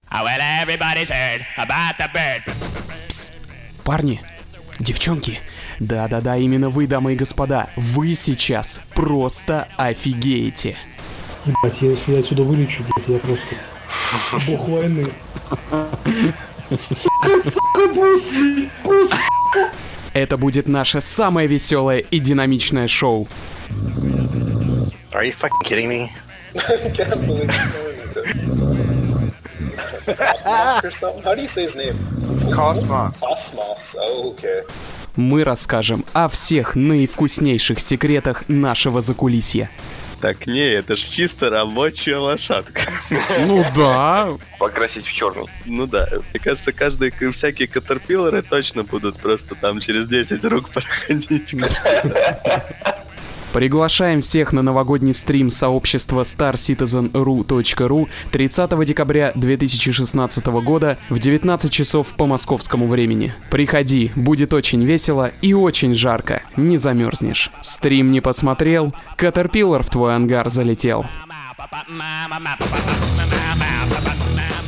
Пс, парни, девчонки, да-да-да, именно вы, дамы и господа, вы сейчас просто офигеете. Ебать, если я отсюда вылечу, блядь, я просто бог войны. Сука, просто. Это будет наше самое веселое и динамичное шоу. Are you fucking kidding me? I can't believe you're saying that. Or something? How do you say his name? Cosmos. Cosmos. Oh, okay. Мы расскажем о всех наивкуснейших секретах нашего закулисья. Так, не, это ж чисто рабочая лошадка. Ну да. Покрасить в черный. Ну да, мне кажется, всякие катерпиллеры точно будут просто там через 10 рук проходить. Приглашаем всех на новогодний стрим сообщества starcitizenru.ru 30 декабря 2016 года в 19 часов по московскому времени. Приходи, будет очень весело и очень жарко, не замерзнешь. Стрим не посмотрел, катерпиллер в твой ангар залетел.